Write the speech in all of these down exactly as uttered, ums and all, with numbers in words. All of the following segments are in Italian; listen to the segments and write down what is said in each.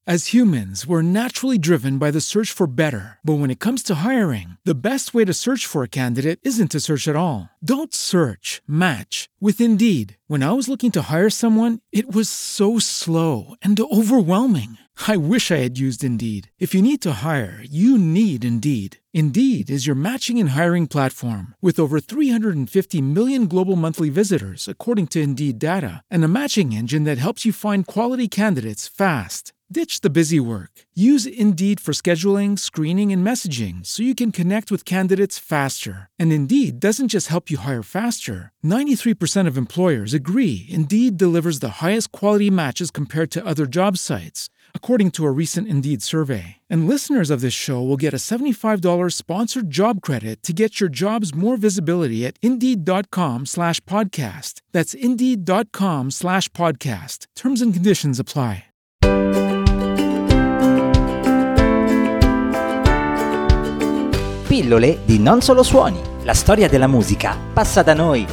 As humans, we're naturally driven by the search for better. But when it comes to hiring, the best way to search for a candidate isn't to search at all. Don't search, match with Indeed. When I was looking to hire someone, it was so slow and overwhelming. I wish I had used Indeed. If you need to hire, you need Indeed. Indeed is your matching and hiring platform with over three hundred fifty million global monthly visitors, according to Indeed data, and a matching engine that helps you find quality candidates fast. Ditch the busy work. Use Indeed for scheduling, screening, and messaging so you can connect with candidates faster. And Indeed doesn't just help you hire faster. ninety-three percent of employers agree Indeed delivers the highest quality matches compared to other job sites, according to a recent Indeed survey. And listeners of this show will get a seventy-five dollars sponsored job credit to get your jobs more visibility at Indeed.com slash podcast. That's Indeed.com slash podcast. Terms and conditions apply. Pillole di Non Solo Suoni. La storia della musica passa da noi.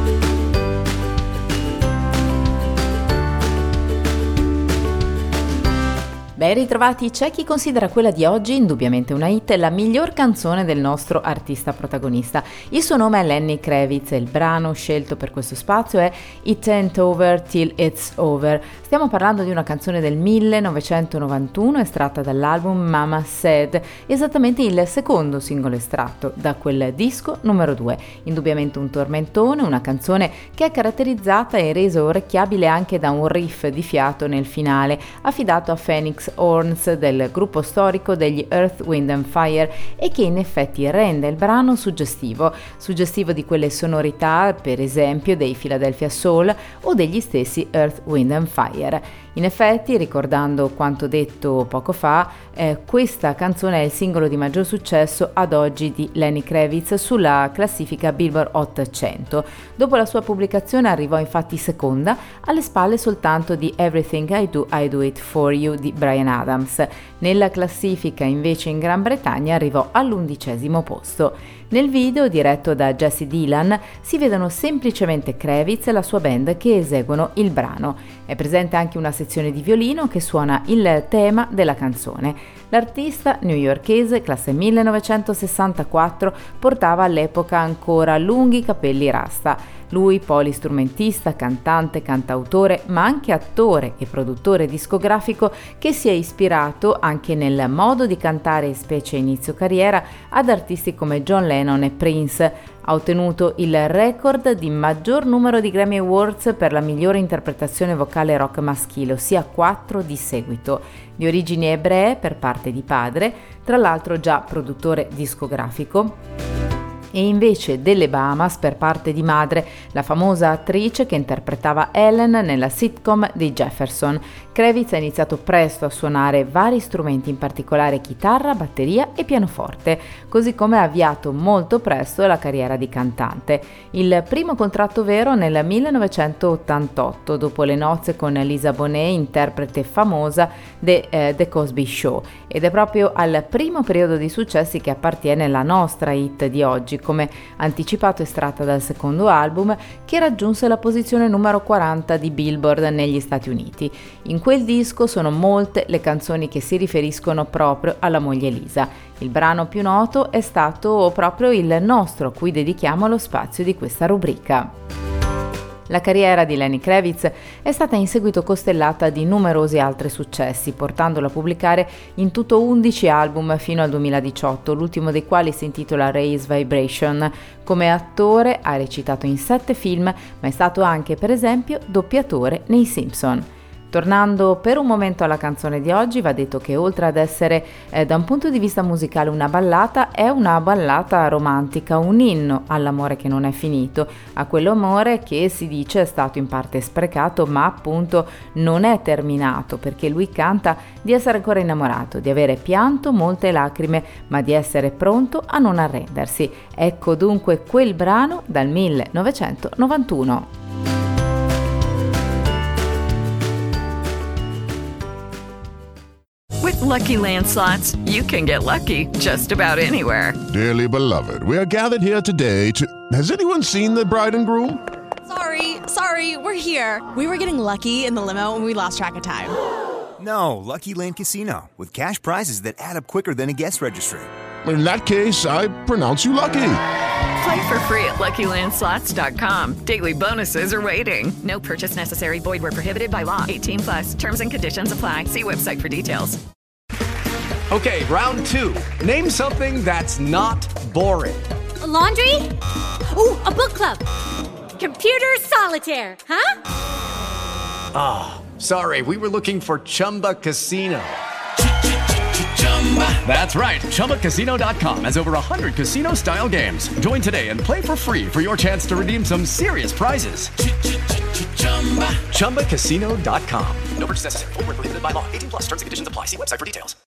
Ben ritrovati, c'è chi considera quella di oggi, indubbiamente una hit, la miglior canzone del nostro artista protagonista. Il suo nome è Lenny Kravitz e il brano scelto per questo spazio è It Ain't Over Till It's Over. Stiamo parlando di una canzone del millenovecentonovantuno estratta dall'album Mama Said, esattamente il secondo singolo estratto da quel disco numero due. Indubbiamente un tormentone, una canzone che è caratterizzata e resa orecchiabile anche da un riff di fiato nel finale, affidato a Phoenix Horns del gruppo storico degli Earth, Wind and Fire, e che in effetti rende il brano suggestivo, suggestivo di quelle sonorità per esempio dei Philadelphia Soul o degli stessi Earth, Wind and Fire. In effetti, ricordando quanto detto poco fa, eh, questa canzone è il singolo di maggior successo ad oggi di Lenny Kravitz sulla classifica Billboard Hot cento. Dopo la sua pubblicazione arrivò infatti seconda, alle spalle soltanto di Everything I Do, I Do It For You di Bryan Adams. Nella classifica invece in Gran Bretagna arrivò all'undicesimo posto. Nel video, diretto da Jesse Dylan, si vedono semplicemente Kravitz e la sua band che eseguono il brano. È presente anche una sezione di violino che suona il tema della canzone. L'artista newyorkese, classe millenovecentosessantaquattro, portava all'epoca ancora lunghi capelli rasta. Lui, polistrumentista, cantante, cantautore, ma anche attore e produttore discografico, che si è ispirato anche nel modo di cantare, specie inizio carriera, ad artisti come John Lennon e Prince. Ha ottenuto il record di maggior numero di Grammy Awards per la migliore interpretazione vocale rock maschile, ossia quattro di seguito. Di origini ebree per parte di padre, tra l'altro già produttore discografico, e invece delle Bahamas per parte di madre, la famosa attrice che interpretava Ellen nella sitcom dei Jefferson. Kravitz ha iniziato presto a suonare vari strumenti, in particolare chitarra, batteria e pianoforte, così come ha avviato molto presto la carriera di cantante. Il primo contratto vero nel millenovecentottantotto, dopo le nozze con Lisa Bonet, interprete famosa de eh, The Cosby Show, ed è proprio al primo periodo di successi che appartiene la nostra hit di oggi, come anticipato estratta dal secondo album, che raggiunse la posizione numero quaranta di Billboard negli Stati Uniti. In quel disco sono molte le canzoni che si riferiscono proprio alla moglie Lisa. Il brano più noto è stato proprio il nostro, a cui dedichiamo lo spazio di questa rubrica. La carriera di Lenny Kravitz è stata in seguito costellata di numerosi altri successi, portandolo a pubblicare in tutto undici album fino al duemiladiciotto, l'ultimo dei quali si intitola Raise Vibration. Come attore ha recitato in sette film, ma è stato anche, per esempio, doppiatore nei Simpson. Tornando per un momento alla canzone di oggi, va detto che oltre ad essere eh, da un punto di vista musicale una ballata, è una ballata romantica, un inno all'amore che non è finito, a quell'amore che si dice è stato in parte sprecato, ma appunto non è terminato, perché lui canta di essere ancora innamorato, di avere pianto molte lacrime, ma di essere pronto a non arrendersi. Ecco dunque quel brano dal millenovecentonovantuno. With Lucky Land Slots, you can get lucky just about anywhere. Dearly beloved, we are gathered here today to... Has anyone seen the bride and groom? Sorry, sorry, we're here. We were getting lucky in the limo and we lost track of time. No, Lucky Land Casino, with cash prizes that add up quicker than a guest registry. In that case, I pronounce you lucky. Play for free at Lucky Land Slots dot com. Daily bonuses are waiting. No purchase necessary. Void where prohibited by law. eighteen plus. Terms and conditions apply. See website for details. Okay, round two. Name something that's not boring. A laundry? Ooh, a book club. Computer solitaire, huh? Ah, oh, sorry. We were looking for Chumba Casino. That's right. Chumba Casino dot com has over one hundred casino-style games. Join today and play for free for your chance to redeem some serious prizes. Chumba Casino dot com. No purchase necessary. Void where prohibited by law. eighteen plus. Terms and conditions apply. See website for details.